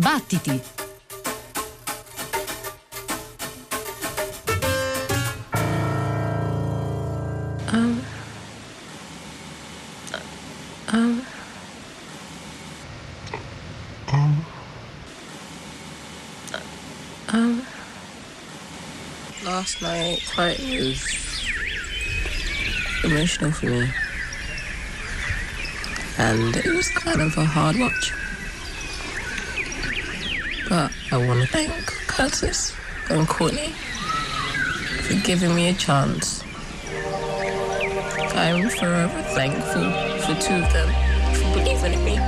Battiti! Last night quite was emotional for me, and it was kind of a hard watch. But I want to thank Curtis and Courtney for giving me a chance. I'm forever thankful for two of them for believing in me.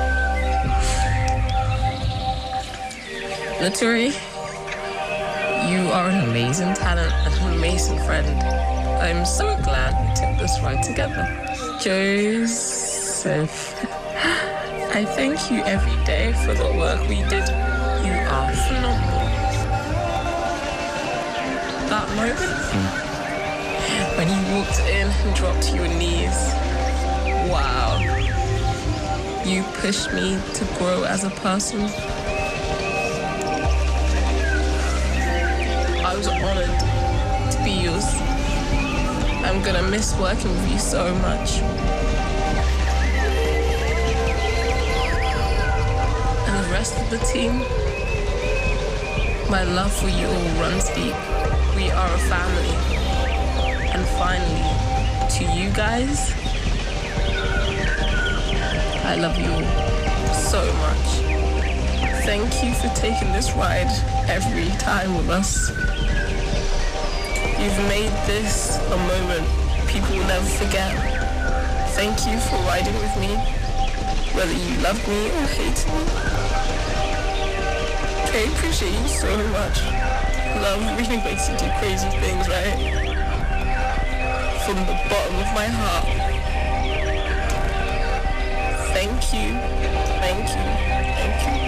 Laturi, you are an amazing talent and an amazing friend. I'm so glad we took this ride together. Joseph, I thank you every day for the work we did. You are phenomenal. That moment when you walked in and dropped to your knees, wow. You pushed me to grow as a person. I was honored to be yours. I'm gonna miss working with you so much. And the rest of the team, my love for you all runs deep. We are a family. And finally, to you guys, I love you all so much. Thank you for taking this ride every time with us. You've made this a moment people will never forget. Thank you for riding with me, whether you loved me or hated me. I appreciate you so much. Love really makes you do crazy things, right? From the bottom of my heart. Thank you, thank you, thank you.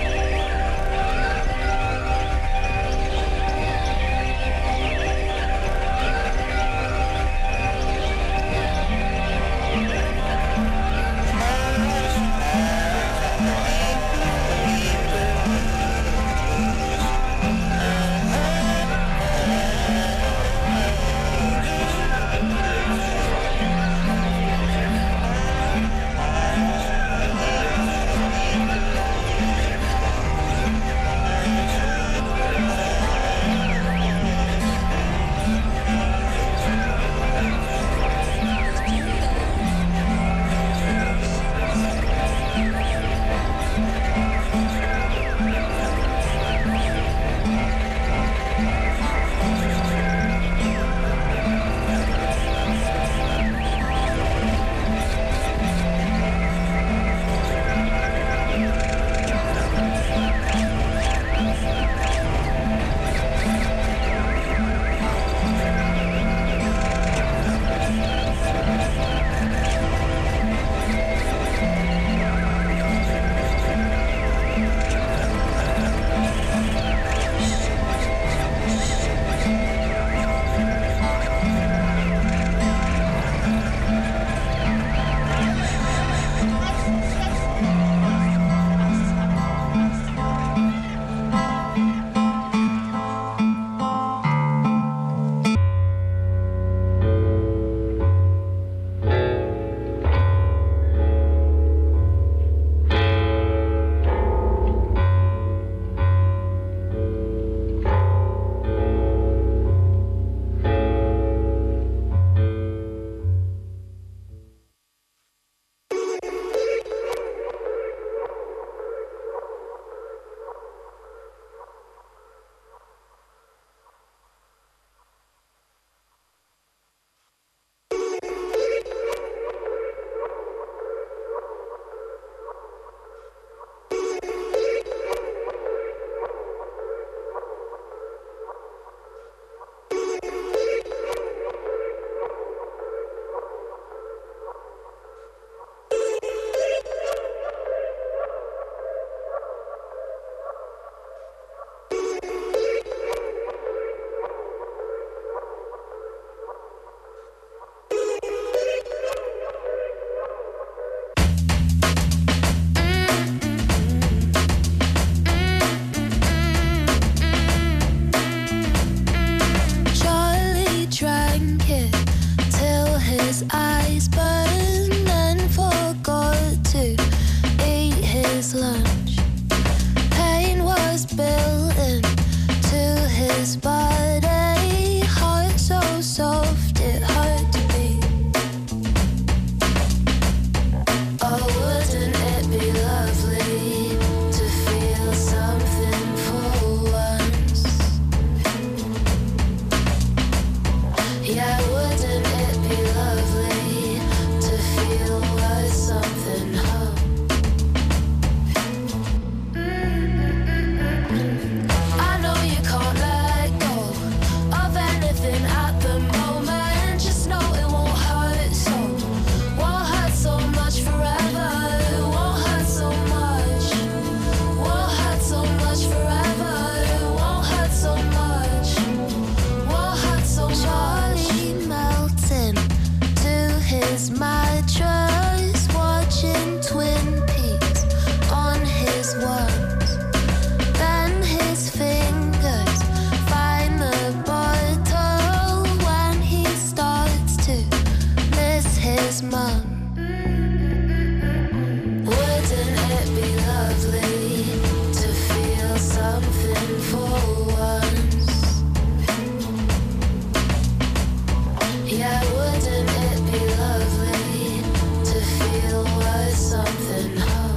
Yeah, wouldn't it be lovely to feel worth something?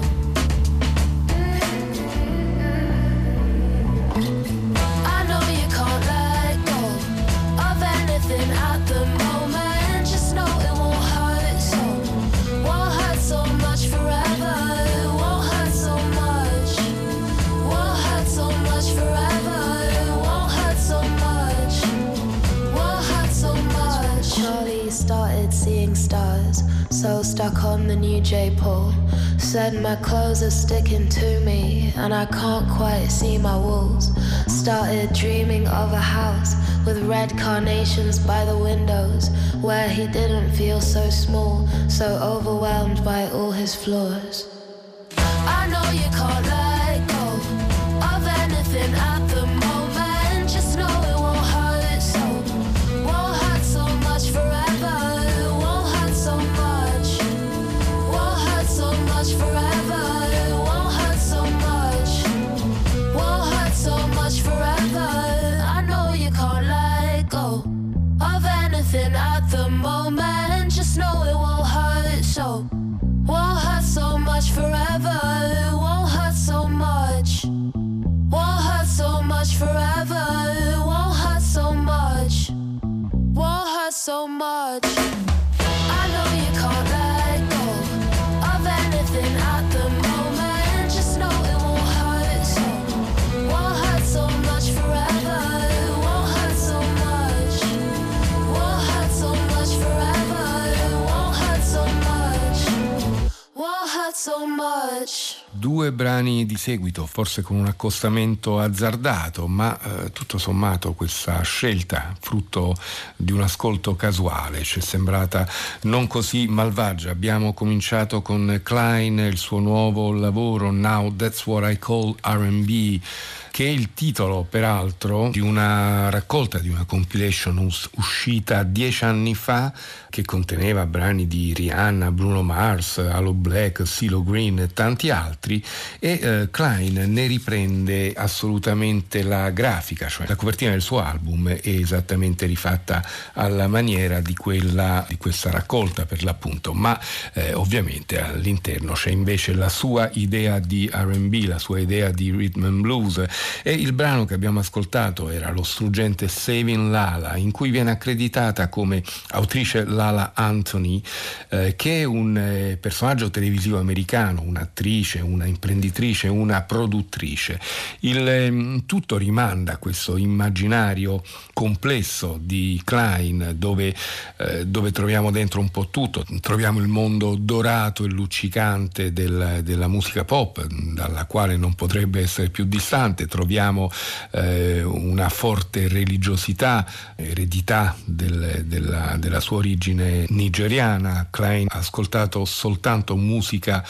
I know you can't let go of anything at the moment. Just know it won't hurt so. Won't hurt so much forever. It won't hurt so much. Won't hurt so much forever. It won't hurt so much. Won't hurt so much. Charlie started seeing stars, so stuck on the new J-pole. Said my clothes are sticking to me and I can't quite see my walls. Started dreaming of a house with red carnations by the windows, where he didn't feel so small, so overwhelmed by all his flaws. I know you can't let go of anything at the moment. Just know it won't hurt so. Won't hurt so much forever. It won't hurt so much. Won't hurt so much forever. It won't hurt so much. Won't hurt so much forever. I know you can't let go of anything at the moment. Just know it won't hurt so. Won't hurt so much forever. It won't hurt so much. Won't hurt so much forever. It won't hurt so much. Won't hurt so much. I know you can't let go of anything at the moment. Just know it won't hurt so. Won't hurt so much forever. It won't hurt so much. Won't hurt so much forever. It won't hurt so much. Won't hurt so much. Due brani di seguito, forse con un accostamento azzardato, ma tutto sommato questa scelta, frutto di un ascolto casuale, ci è sembrata non così malvagia. Abbiamo cominciato con Klein, il suo nuovo lavoro Now That's What I Call R&B, che è il titolo peraltro di una raccolta, di una compilation uscita 10 anni fa, che conteneva brani di Rihanna, Bruno Mars, Aloe Black, CeeLo Green e tanti altri, e Klein ne riprende assolutamente la grafica, cioè la copertina del suo album è esattamente rifatta alla maniera di questa raccolta per l'appunto, ma ovviamente all'interno c'è invece la sua idea di R&B, la sua idea di rhythm and blues. E il brano che abbiamo ascoltato era lo struggente Saving Lala, in cui viene accreditata come autrice Lala Anthony, che è un personaggio televisivo americano, un'attrice, una imprenditrice, una produttrice. Tutto rimanda a questo immaginario complesso di Klein, dove troviamo dentro un po' tutto. Troviamo il mondo dorato e luccicante della musica pop, dalla quale non potrebbe essere più distante. Troviamo una forte religiosità, eredità della sua origine nigeriana. Klein ha ascoltato soltanto musica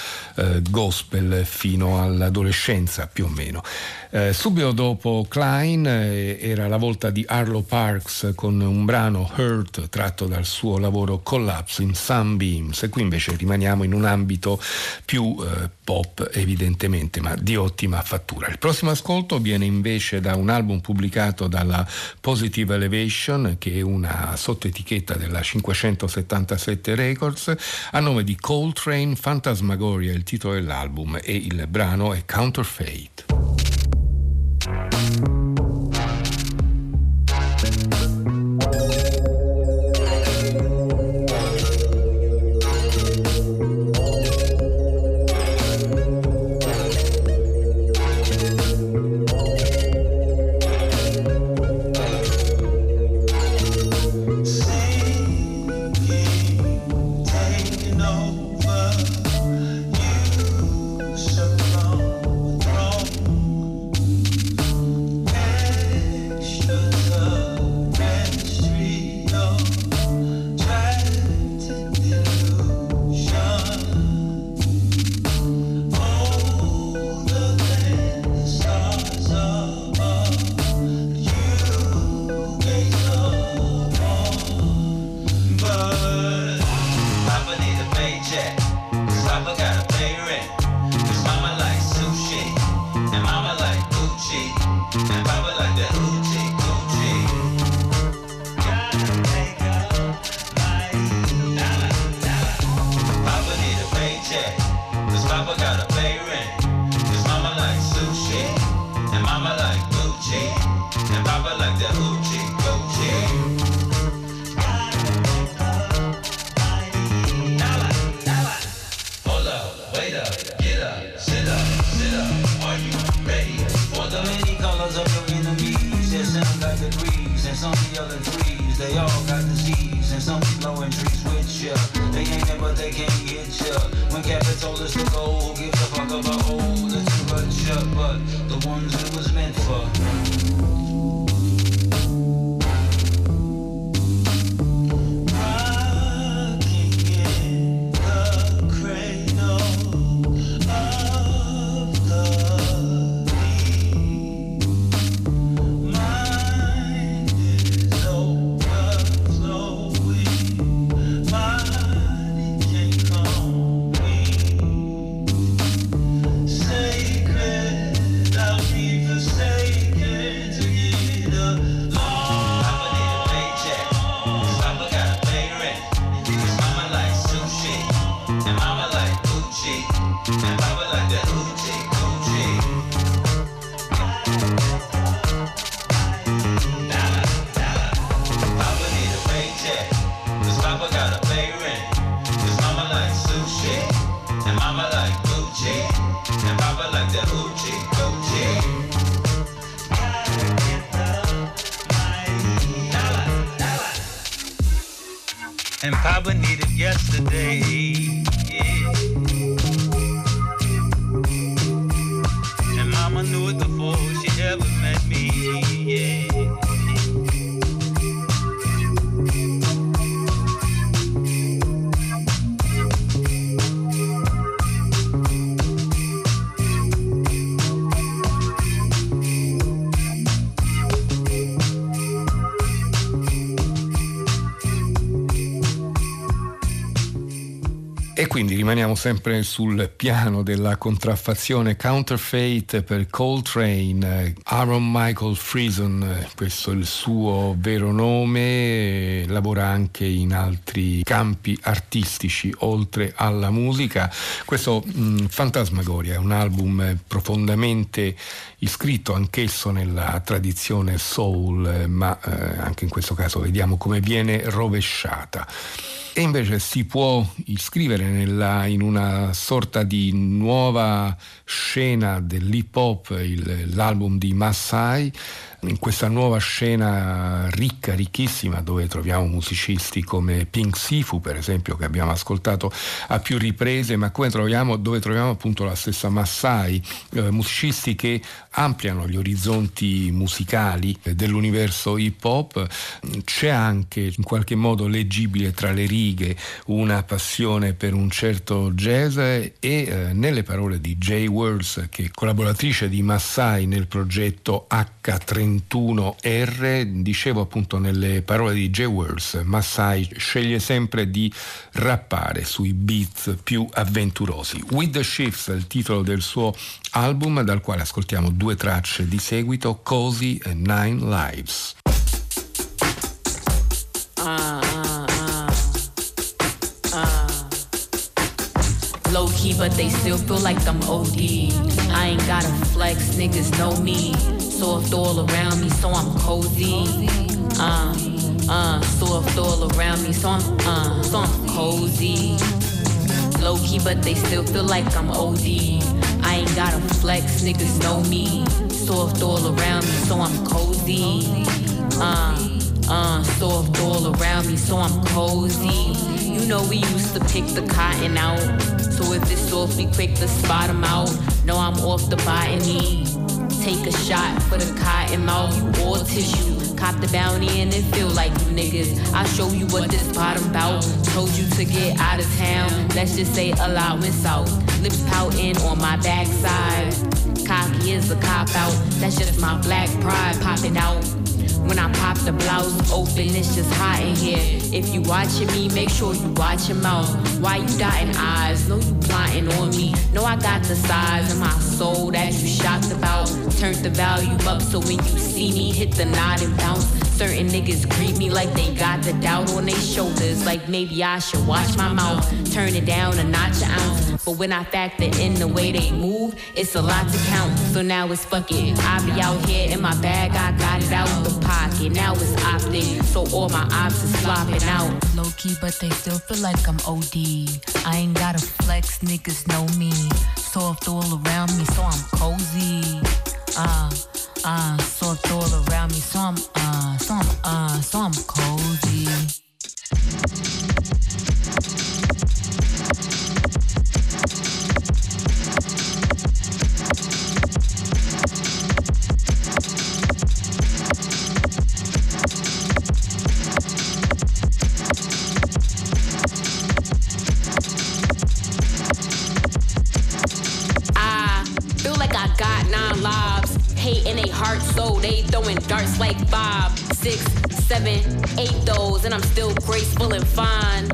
gospel fino all'adolescenza più o meno. Subito dopo Klein era la volta di Arlo Parks con un brano Hurt tratto dal suo lavoro Collapse in Sunbeams, e qui invece rimaniamo in un ambito più pop evidentemente, ma di ottima fattura. Il prossimo ascolto viene invece da un album pubblicato dalla Positive Elevation, che è una sottoetichetta della 577 Records, a nome di Coltrane Phantasmagoria, il titolo dell'album, e il brano è Counterfeit. Over you, so long, wrong. some keep blowing trees with ya. They ain't it, but they can't get ya. When Captain told us to go, who gives a fuck about old? The two but ya, but the ones it was meant for. And Papa needed yesterday, yeah. And Mama knew it before she ever met me, yeah. E quindi rimaniamo sempre sul piano della contraffazione. Counterfeit per Coltrane, Aaron Michael Friesen, questo è il suo vero nome, lavora anche in altri campi artistici oltre alla musica. Questo Fantasmagoria è un album profondamente iscritto anch'esso nella tradizione soul, ma anche in questo caso vediamo come viene rovesciata. E invece si può iscrivere in una sorta di nuova scena dell'hip hop, l'album di Maasai, in questa nuova scena ricca, ricchissima, dove troviamo musicisti come Pink Sifu, per esempio, che abbiamo ascoltato a più riprese, ma dove troviamo appunto la stessa Maasai, musicisti che ampliano gli orizzonti musicali dell'universo hip hop. C'è anche in qualche modo leggibile tra le righe una passione per un certo jazz e nelle parole di Jay Worlds, che è collaboratrice di Maasai nel progetto H31R, dicevo appunto nelle parole di Jay Worlds, Maasai sceglie sempre di rappare sui beats più avventurosi. With the Shifts è il titolo del suo album, dal quale ascoltiamo due tracce di seguito, Cozy e Nine Lives. Low key, but they still feel like I'm OD. I ain't gotta flex, niggas know me. Soft all around me, so I'm cozy. Soft all around me, so I'm cozy. Low key, but they still feel like I'm OD. I ain't gotta flex, niggas know me. Soft all around me, so I'm cozy. Soft all around me, so I'm cozy. You know we used to pick the cotton out, so if it's soft, we quick to spot them out. No, I'm off the botany. Take a shot for the cotton mouth, you all tissue. Cop the bounty and it feel like you niggas. I'll show you what this bottom bout. Told you to get out of town, let's just say allowance out. Lips pouting on my backside. Cocky is a cop out, that's just my black pride popping out. When I pop the blouse open, it's just hot in here. If you watching me, make sure you watch your mouth. Why you dotting eyes? Know you plotting on me. Know I got the size of my soul that you shocked about. Turned the volume up so when you see me, hit the nod and bounce. Certain niggas greet me like they got the doubt on their shoulders. Like maybe I should watch my mouth. Turn it down a notch, an ounce. But when I factor in the way they move, it's a lot to count. So now it's fuck it. I be out here in my bag, I got it out the pocket. Now it's optic, so all my ops is flopping out. Low key, but they still feel like I'm OD. I ain't gotta flex, niggas know me. Soft all around me, so I'm cozy. Soft all around me, so I'm cozy. they heart, so they throwing darts like 5, 6, 7, 8 those, and I'm still graceful and fine.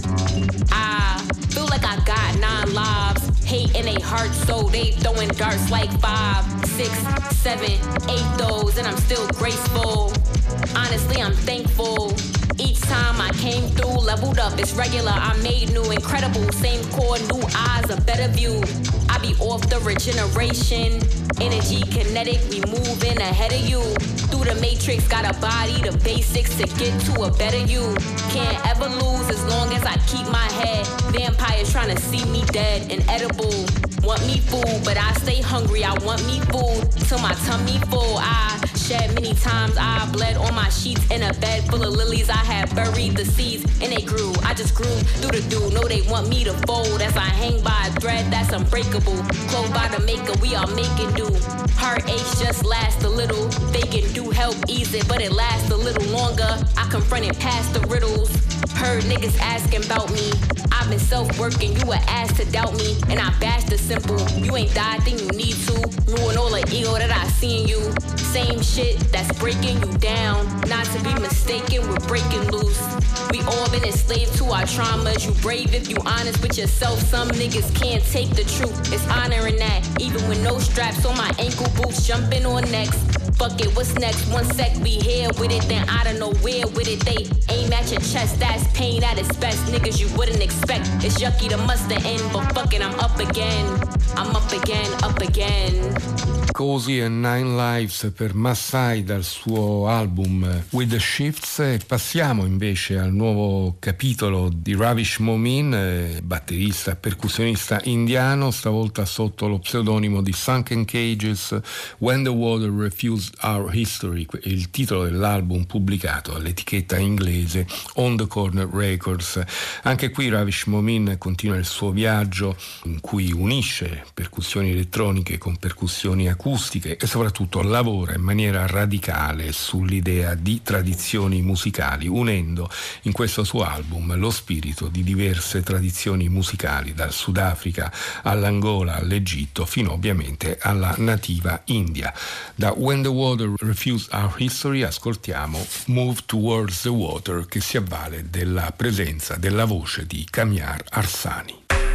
I feel like I got 9 lives. Hate in they heart, so they throwing darts like 5, 6, 7, 8 those, and I'm still graceful. Honestly, I'm thankful. Each time I came through, leveled up, it's regular, I made new, incredible. Same core, new eyes, a better view. I be off the regeneration. Energy kinetic, we moving ahead of you. Through the matrix, got a body, the basics to get to a better you. Can't ever lose as long as I keep my head. Vampires trying to see me dead, inedible. Want me food, but I stay hungry, I want me food. Till my tummy full, I shed many times, I bled on my sheets. In a bed full of lilies, I had buried the seeds, and they grew, I just grew through the dew. No, they want me to fold, as I hang by a thread that's unbreakable. Clothed by the maker, we are making do. Heartaches just last a little, they can do help ease it, but it lasts a little longer. I confronted past the riddles, heard niggas asking about me. I've been self-working, you were asked to doubt me, and I bashed the simple. You ain't died, then you need to ruin all the ego that I see in you. Same shit that's breaking you down, not to be mistaken, we're breaking loose. We all been enslaved to our traumas. You brave if you honest with yourself. Some niggas can't take the truth. It's honoring that, even with no straps on my ankle boots, jumping on necks. Fuck it, what's next? One sec, we here with it, then I don't know where with it. They aim at your chest, that's pain at its best. Niggas you wouldn't expect. It's yucky to must the end, but fuck it, I'm up again. I'm up again, up again. Cozy and Nine Lives per Massai dal suo album With the Shifts. E passiamo invece al nuovo capitolo di Ravish Momin, batterista e percussionista indiano, stavolta sotto lo pseudonimo di Sunken Cages. When the Water Refused Our History, il titolo dell'album pubblicato all'etichetta inglese On the Corner Records. Anche qui Ravish Momin continua il suo viaggio in cui unisce percussioni elettroniche con percussioni acustiche e soprattutto lavora in maniera radicale sull'idea di tradizioni musicali, unendo in questo suo album lo spirito di diverse tradizioni musicali, dal Sudafrica all'Angola, all'Egitto, fino ovviamente alla nativa India. Da When the Water Refused Our History ascoltiamo Move Towards the Water, che si avvale della presenza della voce di Kamiar Arsani.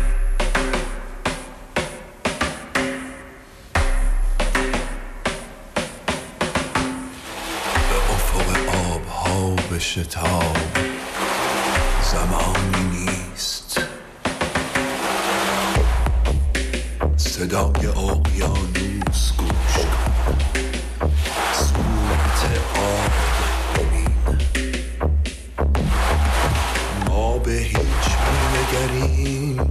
شتاب زمانی نیست صدای اقیانوس گوش کن صورت آب ببین ما به هیچ می‌نگریم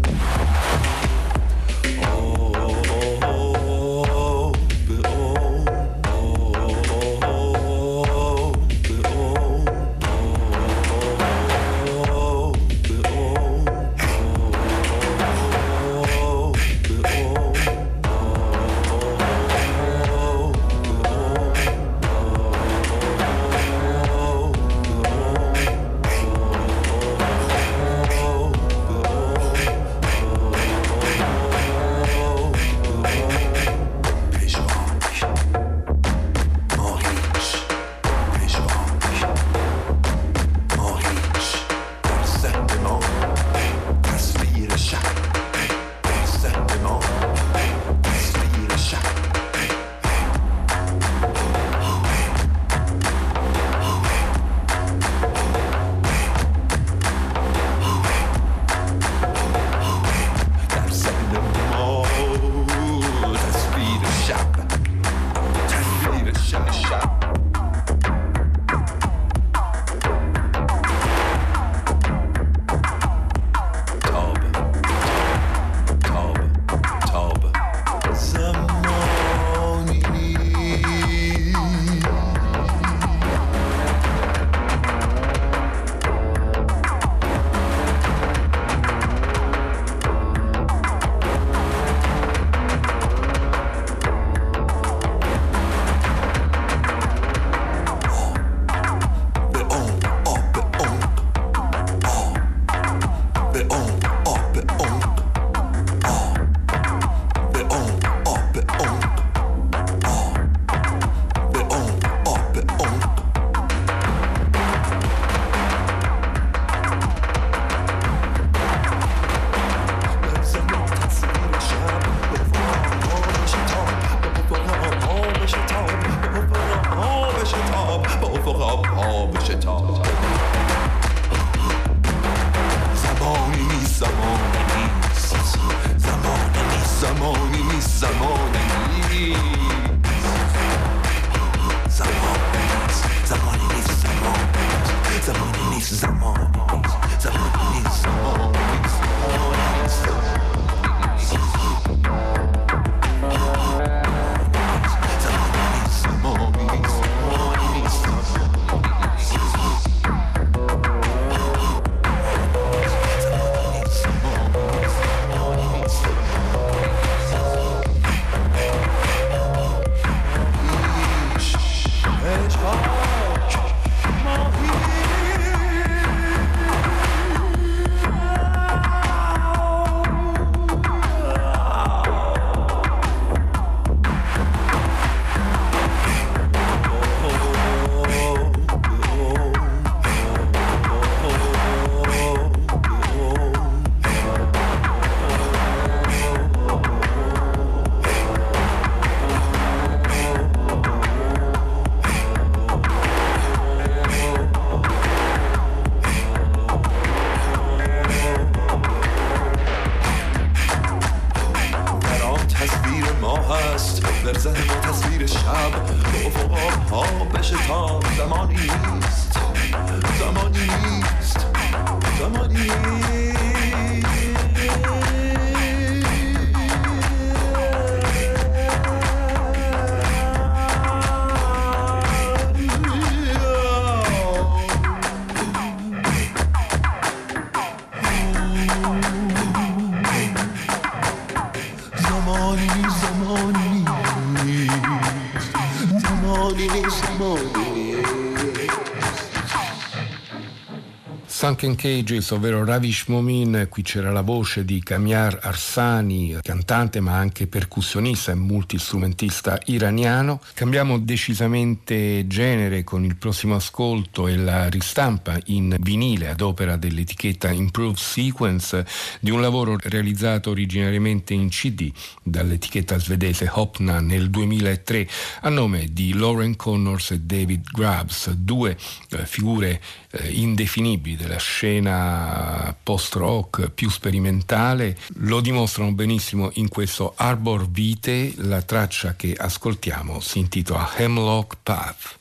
Sunken Cages, ovvero Ravish Momin. Qui c'era la voce di Kamiar Arsani, cantante ma anche percussionista e multistrumentista iraniano. Cambiamo decisamente genere con il prossimo ascolto e la ristampa in vinile ad opera dell'etichetta Improved Sequence di un lavoro realizzato originariamente in CD dall'etichetta svedese Hopna nel 2003 a nome di Lauren Connors e David Grubbs, due figure indefinibili della scena post-rock più sperimentale. Lo dimostrano benissimo in questo Arbor Vitae. La traccia che ascoltiamo si intitola Hemlock Path.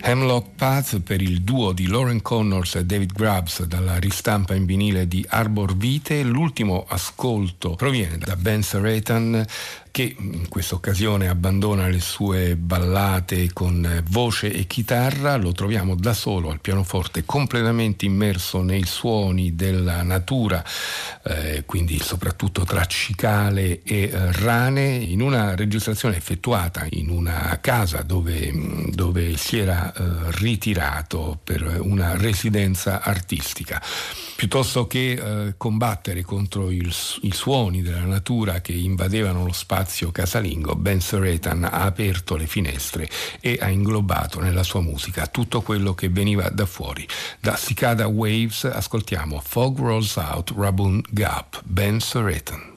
Hemlock Path per il duo di Lauren Connors e David Grubbs dalla ristampa in vinile di Arbor Vitae. L'ultimo ascolto proviene da Ben Seratan, che in questa occasione abbandona le sue ballate con voce e chitarra. Lo troviamo da solo al pianoforte, completamente immerso nei suoni della natura, quindi soprattutto tra cicale e rane, in una registrazione effettuata in una casa dove si era ritirato per una residenza artistica. Piuttosto che combattere contro i suoni della natura che invadevano lo spazio casalingo, Ben Seratan ha aperto le finestre e ha inglobato nella sua musica tutto quello che veniva da fuori. Da Cicada Waves ascoltiamo Fog Rolls Out Rabun Gap, Ben Seratan.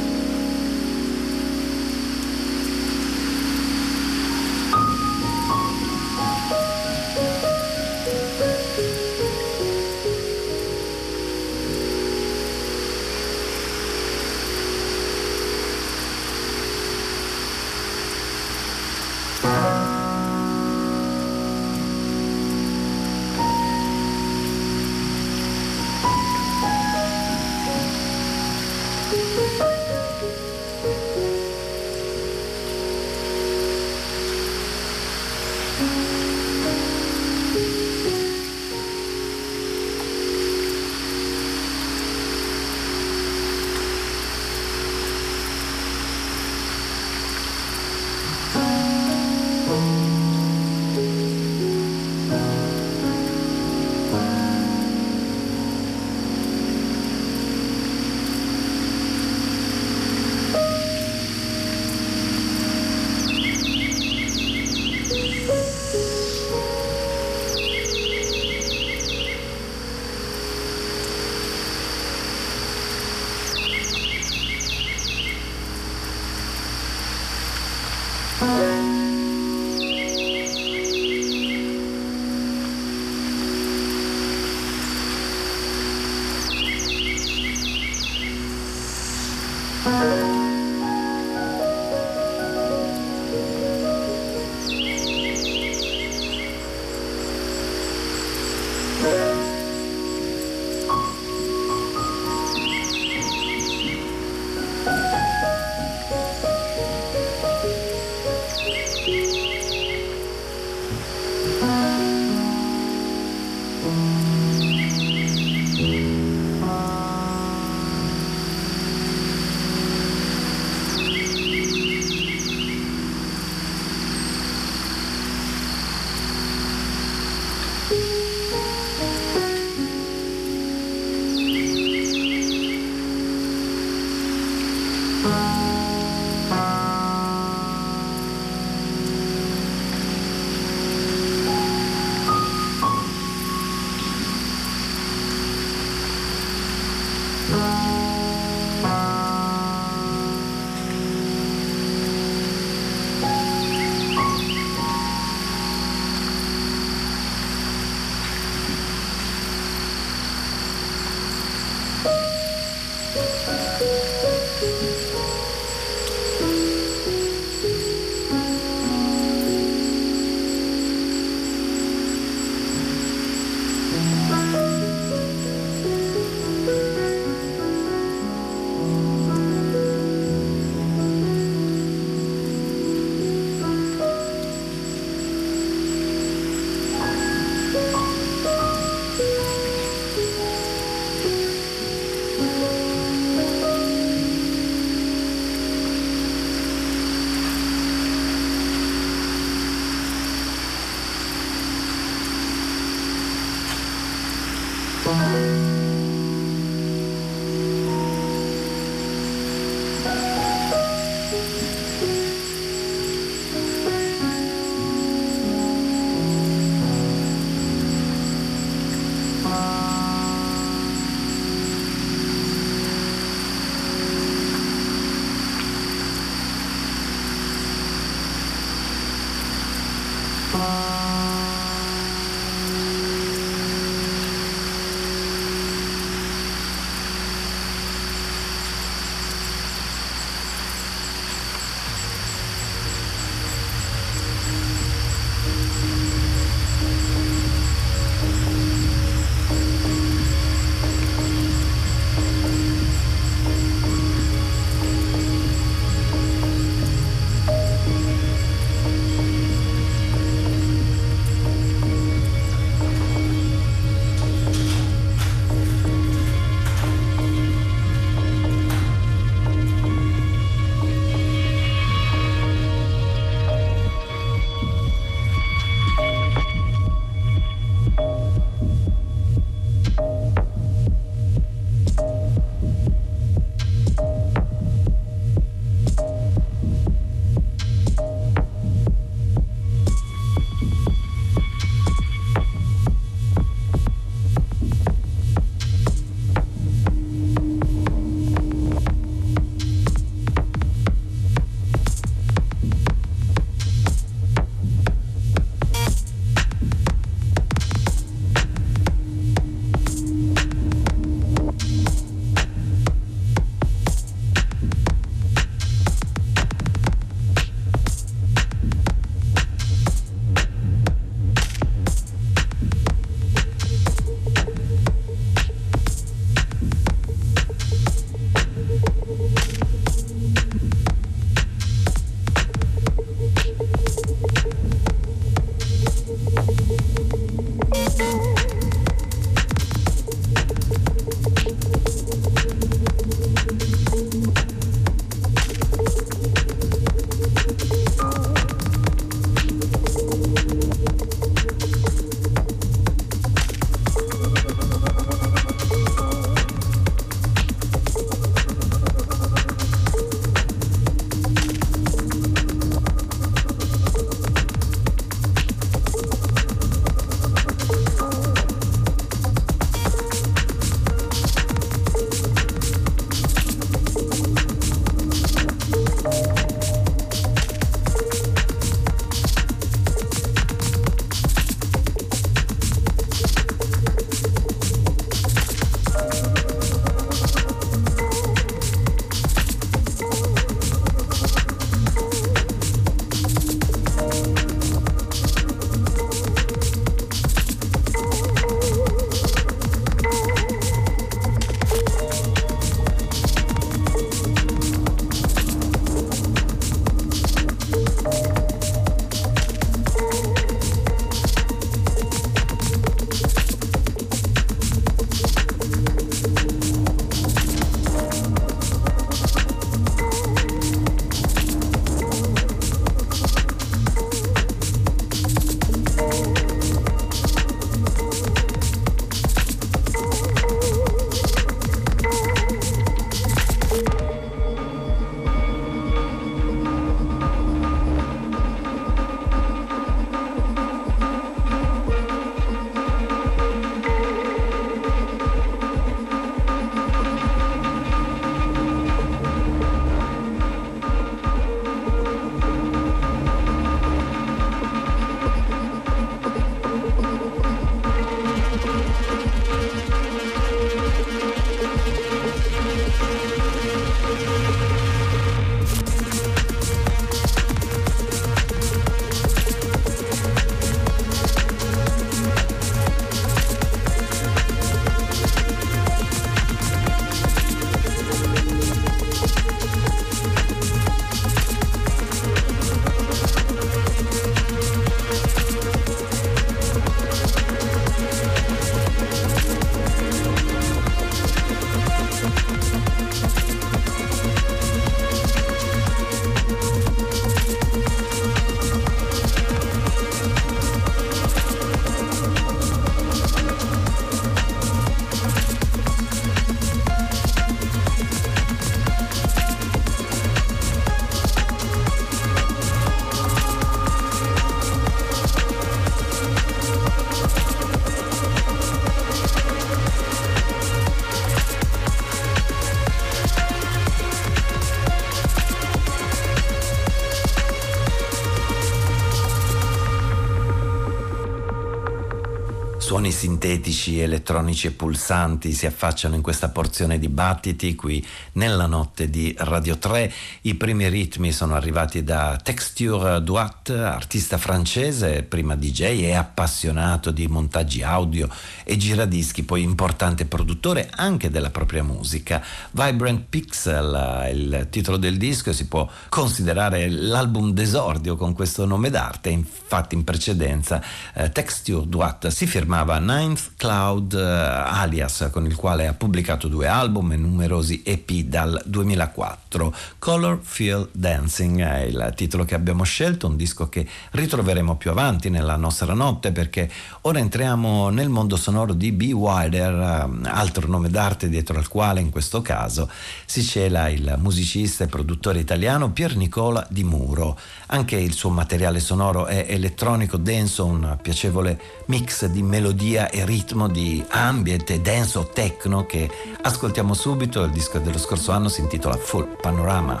Suoni sintetici, elettronici e pulsanti si affacciano in questa porzione di battiti qui nella notte di Radio 3. I primi ritmi sono arrivati da Texture Duat, artista francese, prima DJ e appassionato di montaggi audio e giradischi, poi importante produttore anche della propria musica. Vibrant Pixel, il titolo del disco, si può considerare l'album d'esordio con questo nome d'arte. Infatti in precedenza Texture Duat si firmava Ninth Cloud alias, con il quale ha pubblicato 2 album e numerosi EP dal 2004. Color Feel Dancing è il titolo che abbiamo scelto, un disco che ritroveremo più avanti nella nostra notte, perché ora entriamo nel mondo sonoro di B. Wilder, altro nome d'arte dietro al quale in questo caso si cela il musicista e produttore italiano Pier Nicola Di Muro. Anche il suo materiale sonoro è elettronico denso, un piacevole mix di melodia e ritmo, di ambient e denso techno che ascoltiamo subito. Il disco dello scorso anno si intitola Full Panorama.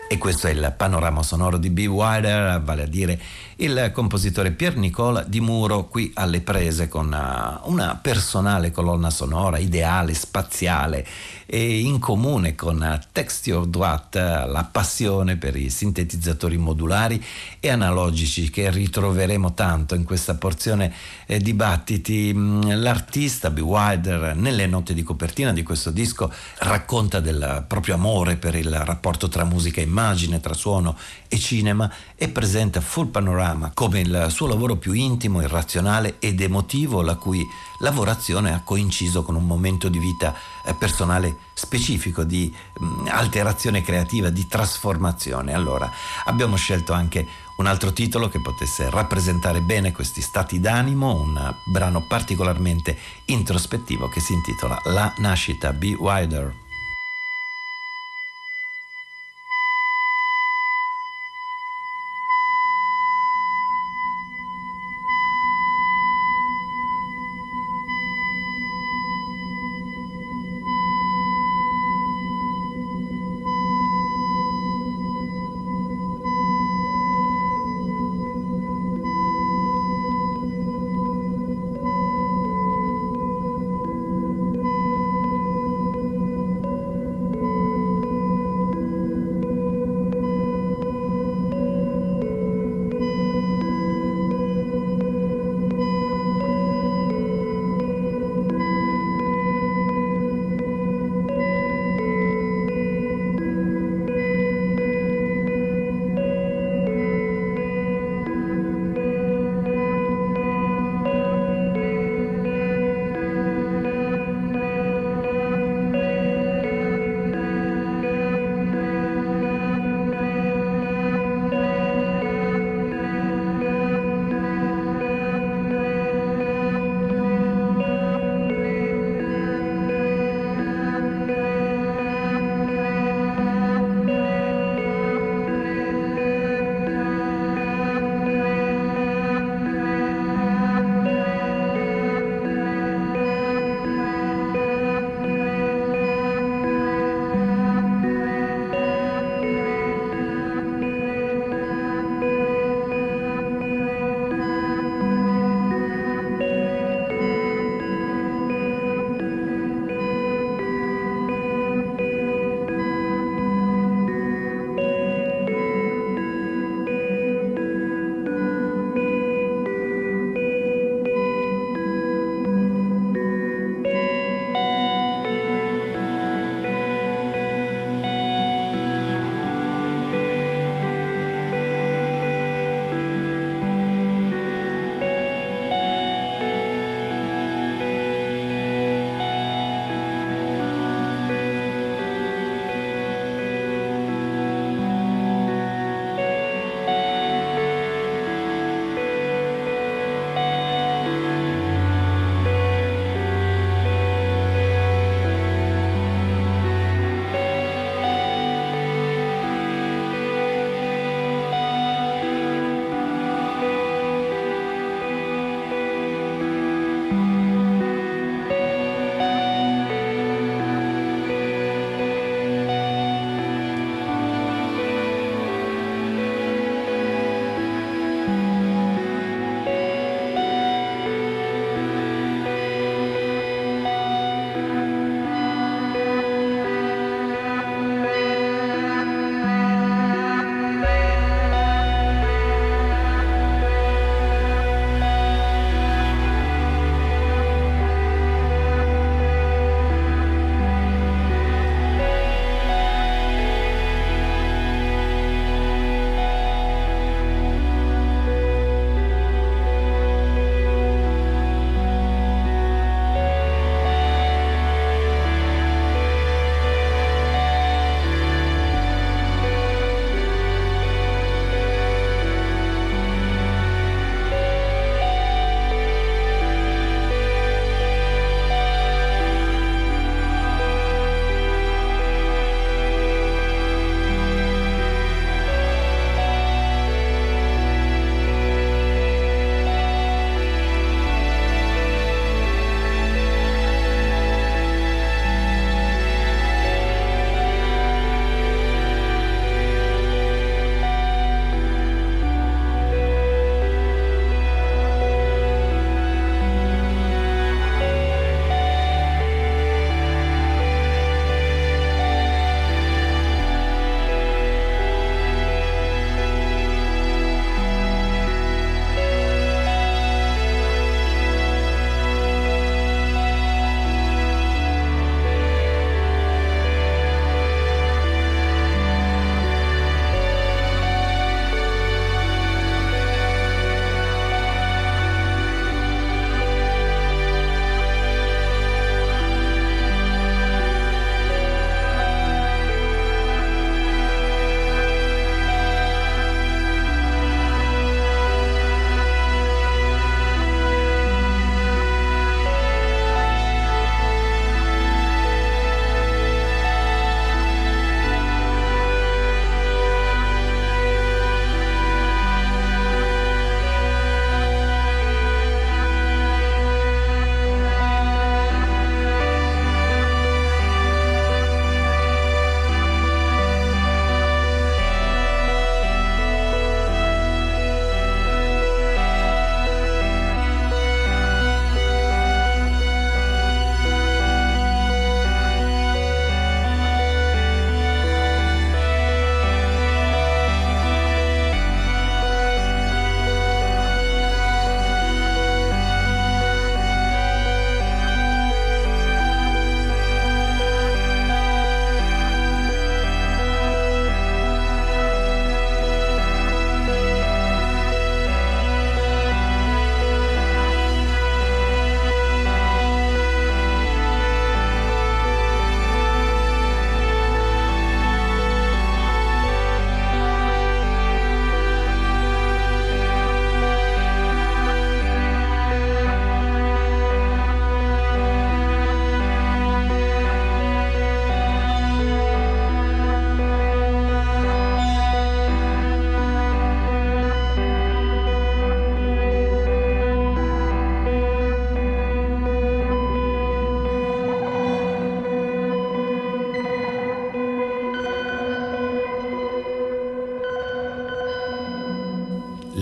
E questo è il panorama sonoro di Be Wider, vale a dire il compositore Pier Nicola Di Muro, qui alle prese con una personale colonna sonora ideale, spaziale e in comune con Texture Droite, la passione per i sintetizzatori modulari e analogici che ritroveremo tanto in questa porzione di Battiti. L'artista Be Wider, nelle note di copertina di questo disco, racconta del proprio amore per il rapporto tra musica e immagine, tra suono e cinema, e presenta Full Panorama come il suo lavoro più intimo, irrazionale ed emotivo, la cui lavorazione ha coinciso con un momento di vita personale specifico di alterazione creativa, di trasformazione. Allora abbiamo scelto anche un altro titolo che potesse rappresentare bene questi stati d'animo, un brano particolarmente introspettivo che si intitola La nascita, Be Wider.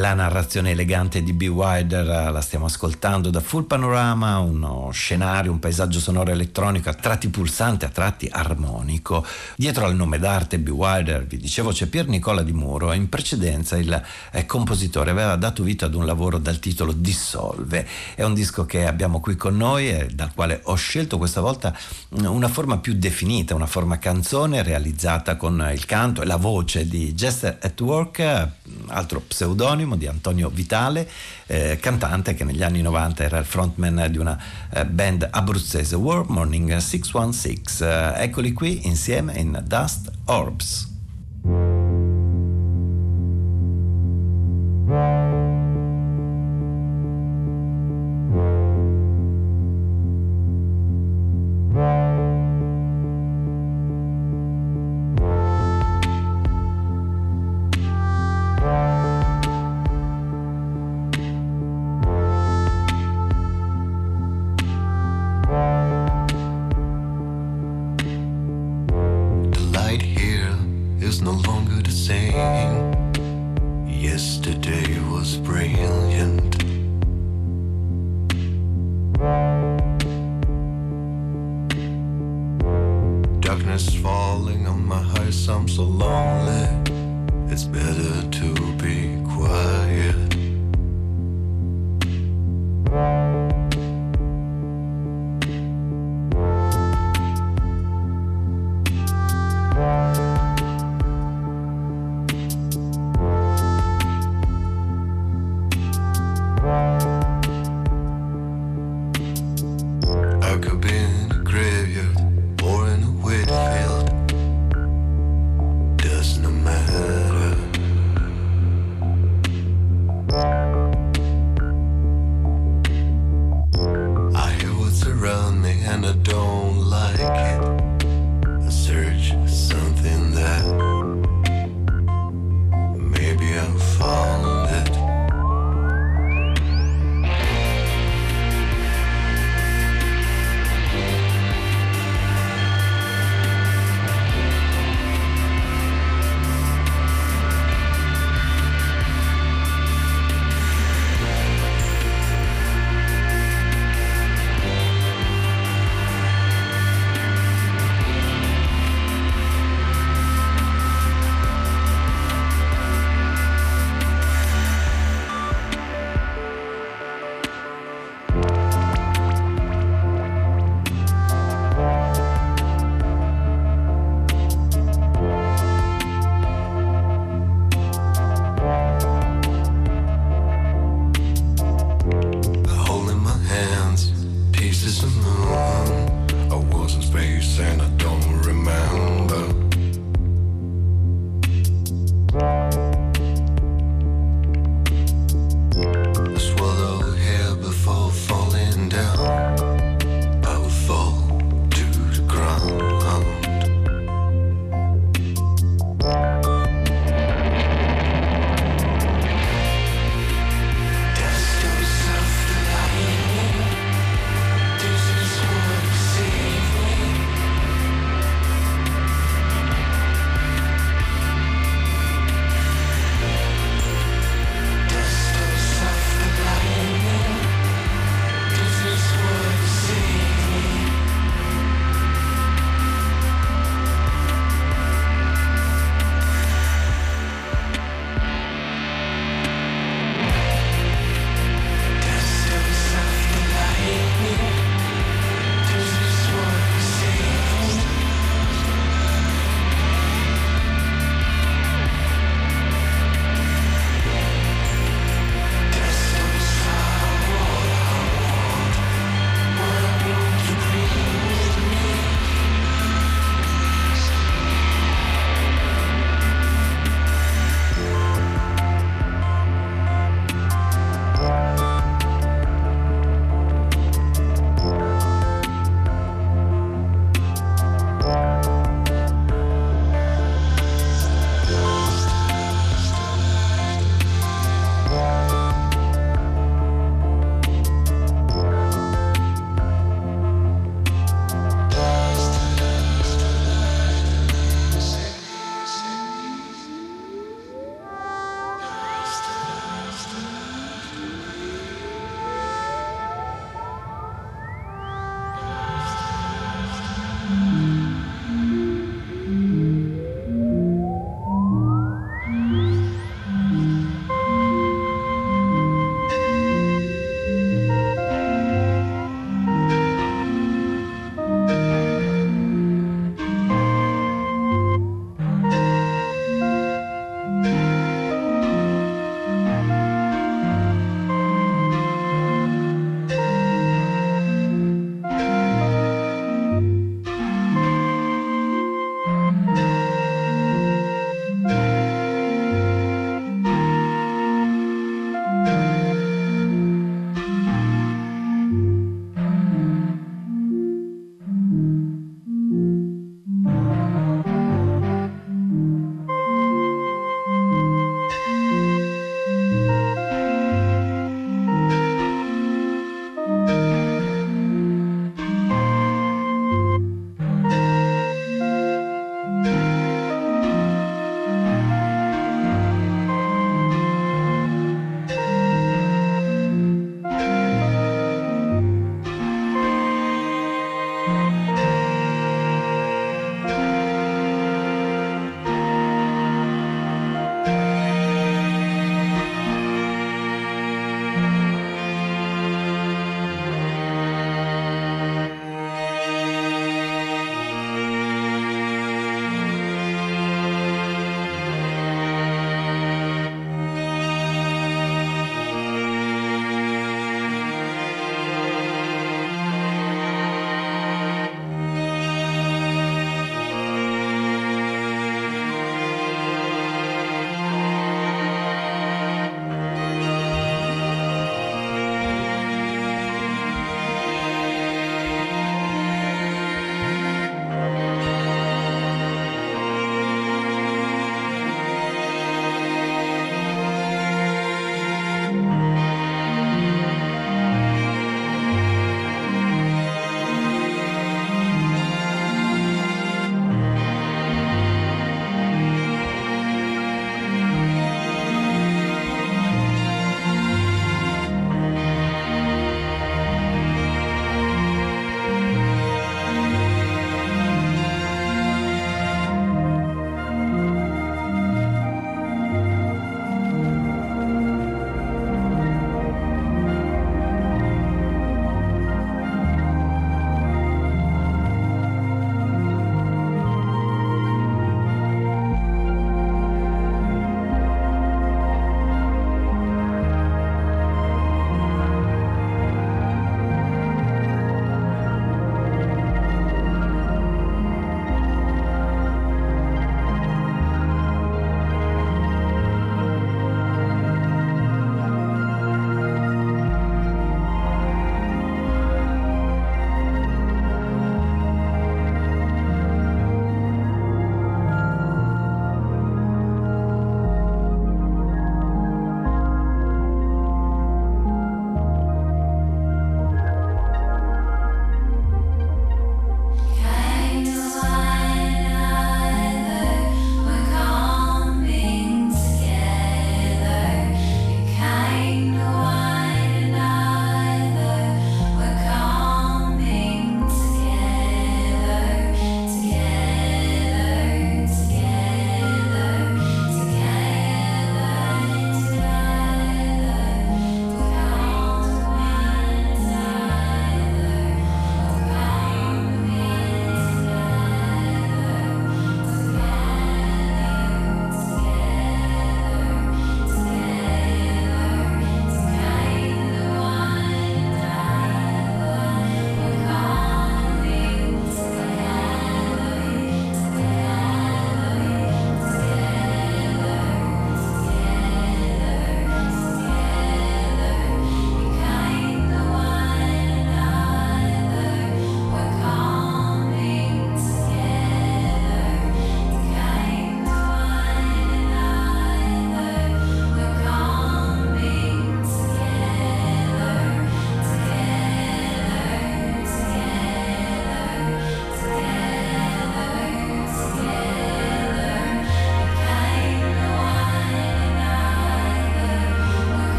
la narrazione elegante di B. Wilder la stiamo ascoltando da Full Panorama, uno scenario, un paesaggio sonoro elettronico a tratti pulsante, a tratti armonico. Dietro al nome d'arte B. Wilder, vi dicevo, c'è Pier Nicola Di Muro. In precedenza il compositore aveva dato vita ad un lavoro dal titolo Dissolve. È un disco che abbiamo qui con noi e dal quale ho scelto questa volta una forma più definita, una forma canzone realizzata con il canto e la voce di Jester at Work, altro pseudonimo di Antonio Vitale, cantante che negli anni 90 era il frontman di una band abruzzese, War Morning 616. Eccoli qui insieme in Dust Orbs. and I don't like it. I search something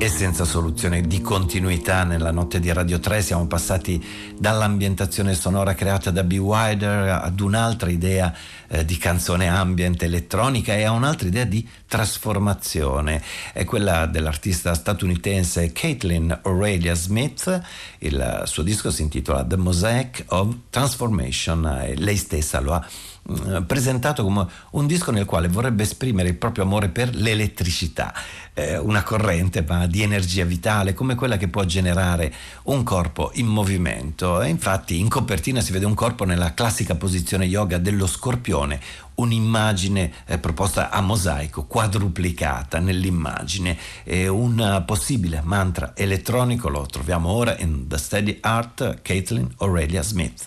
e senza soluzione di continuità nella notte di Radio 3. Siamo passati dall'ambientazione sonora creata da B. Wider ad un'altra idea di canzone ambient elettronica e a un'altra idea di trasformazione. È quella dell'artista statunitense Caitlin Aurelia Smith. Il suo disco si intitola The Mosaic of Transformation e lei stessa lo ha presentato come un disco nel quale vorrebbe esprimere il proprio amore per l'elettricità, una corrente ma di energia vitale come quella che può generare un corpo in movimento. E infatti in copertina si vede un corpo nella classica posizione yoga dello scorpione, un'immagine proposta a mosaico, quadruplicata nell'immagine, e un possibile mantra elettronico lo troviamo ora in The Steady Art, Caitlin Aurelia Smith.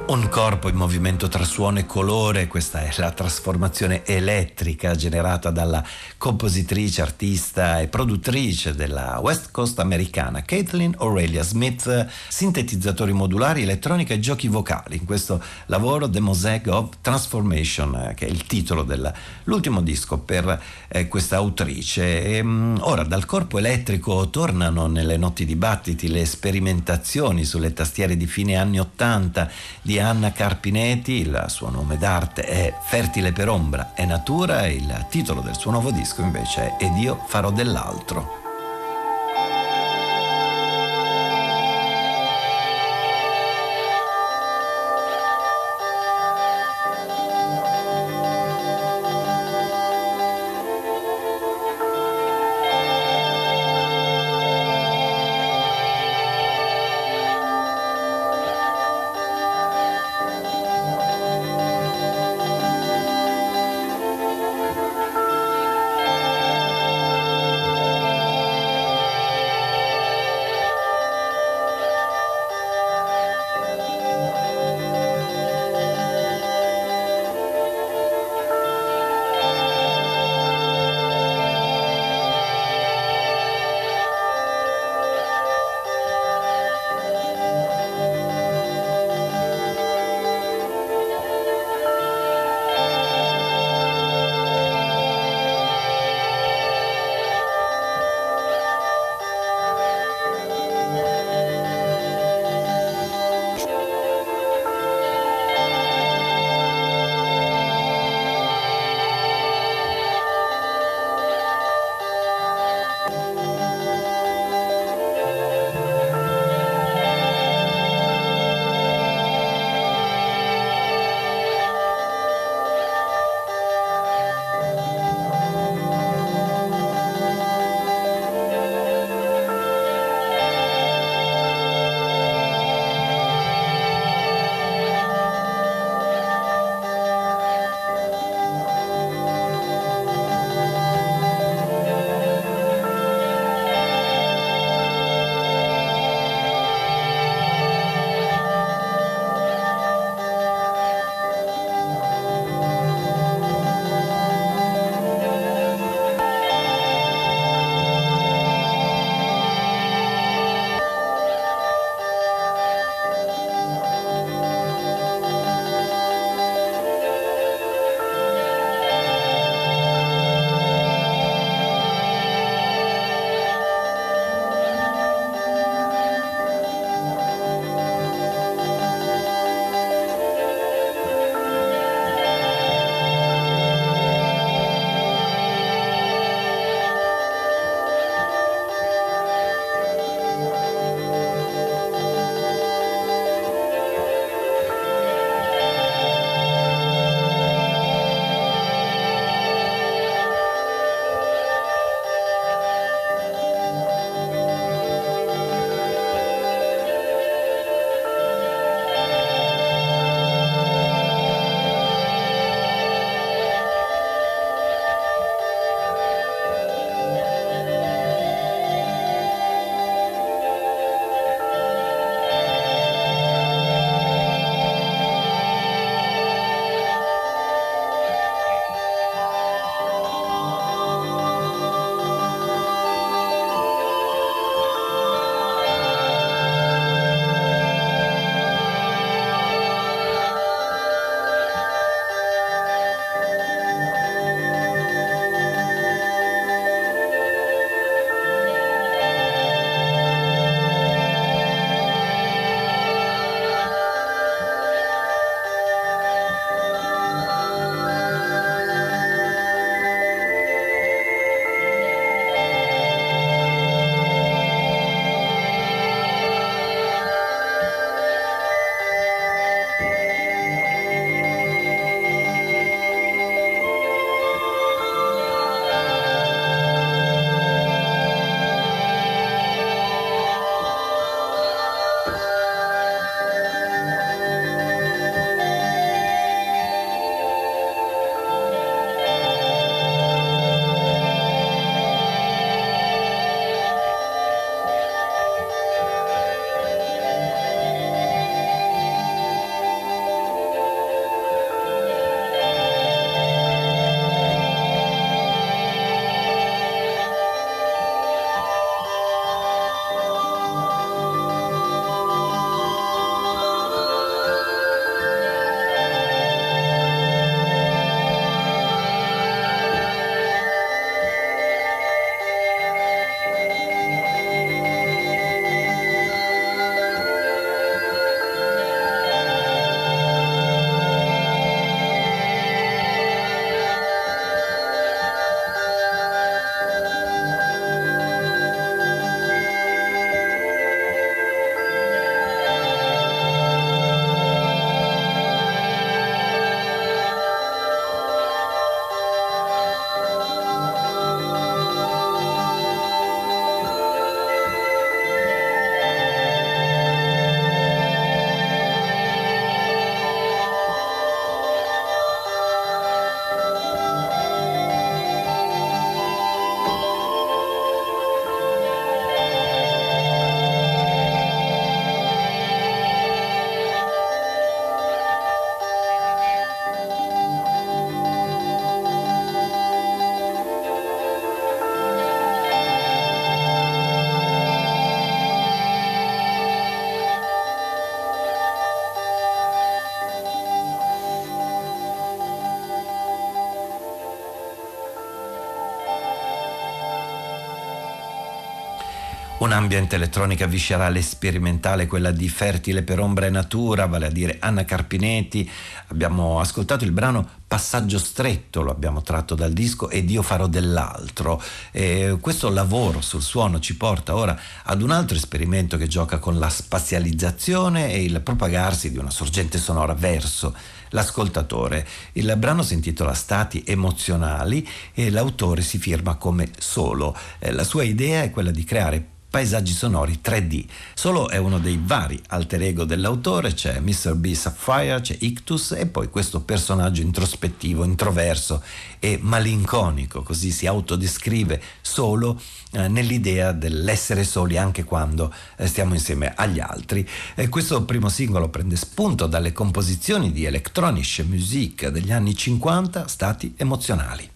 Un corpo in movimento tra suono e colore, questa è la trasformazione elettrica generata dalla compositrice, artista e produttrice della West Coast americana Kathleen Aurelia Smith, sintetizzatori modulari, elettronica e giochi vocali. In questo lavoro The Mosaic of Transformation, che è il titolo dell'ultimo disco per questa autrice. Ora dal corpo elettrico tornano nelle notti dibattiti le sperimentazioni sulle tastiere di fine anni 80 di Anna Carpinetti. Il suo nome d'arte è Fertile per ombra e natura, e il titolo del suo nuovo disco invece è Ed io farò dell'altro. Un ambiente elettronica viscerale e sperimentale, quella di Fertile per Ombra e Natura, vale a dire Anna Carpinetti. Abbiamo ascoltato il brano Passaggio Stretto, lo abbiamo tratto dal disco Ed io farò dell'altro. Questo lavoro sul suono ci porta ora ad un altro esperimento che gioca con la spazializzazione e il propagarsi di una sorgente sonora verso l'ascoltatore. Il brano si intitola Stati emozionali e l'autore si firma come Solo. La sua idea è quella di creare paesaggi sonori 3D. Solo è uno dei vari alter ego dell'autore, c'è Mr. B Sapphire, c'è Ictus e poi questo personaggio introspettivo, introverso e malinconico, così si autodescrive Solo nell'idea dell'essere soli anche quando stiamo insieme agli altri. Questo primo singolo prende spunto dalle composizioni di Electronic Music degli anni 50, Stati emozionali.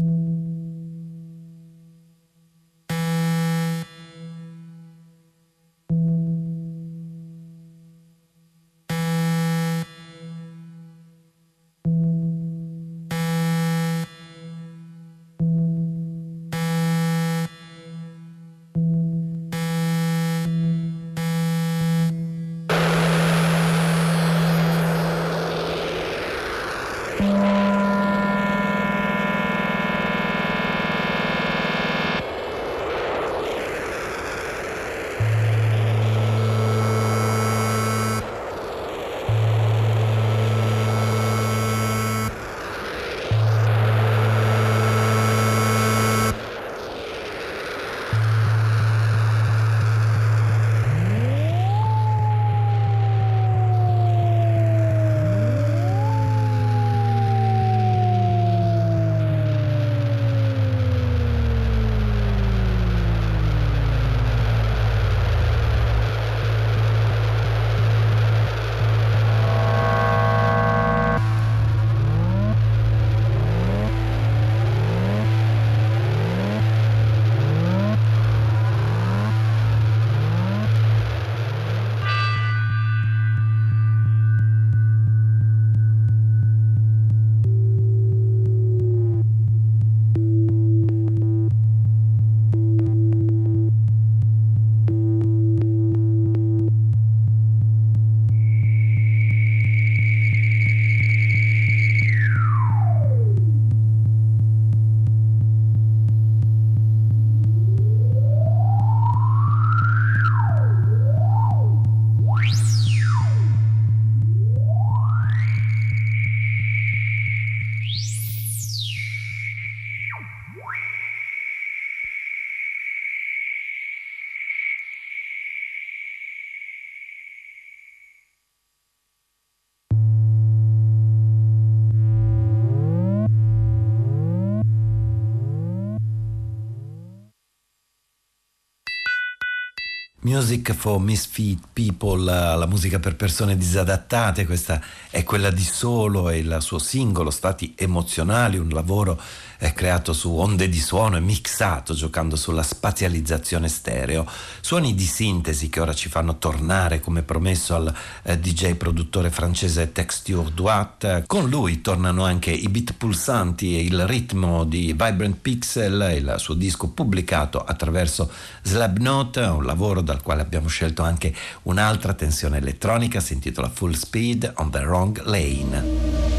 Music for Misfit People, la musica per persone disadattate, questa è quella di Solo e il suo singolo Stati emozionali, un lavoro creato su onde di suono e mixato giocando sulla spazializzazione stereo, suoni di sintesi che ora ci fanno tornare come promesso al DJ produttore francese Texture Droite. Con lui tornano anche i beat pulsanti e il ritmo di Vibrant Pixel, il suo disco pubblicato attraverso Slabnote, un lavoro dal quale abbiamo scelto anche un'altra tensione elettronica, si intitola Full Speed on the Wrong Lane.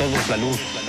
todos la luz.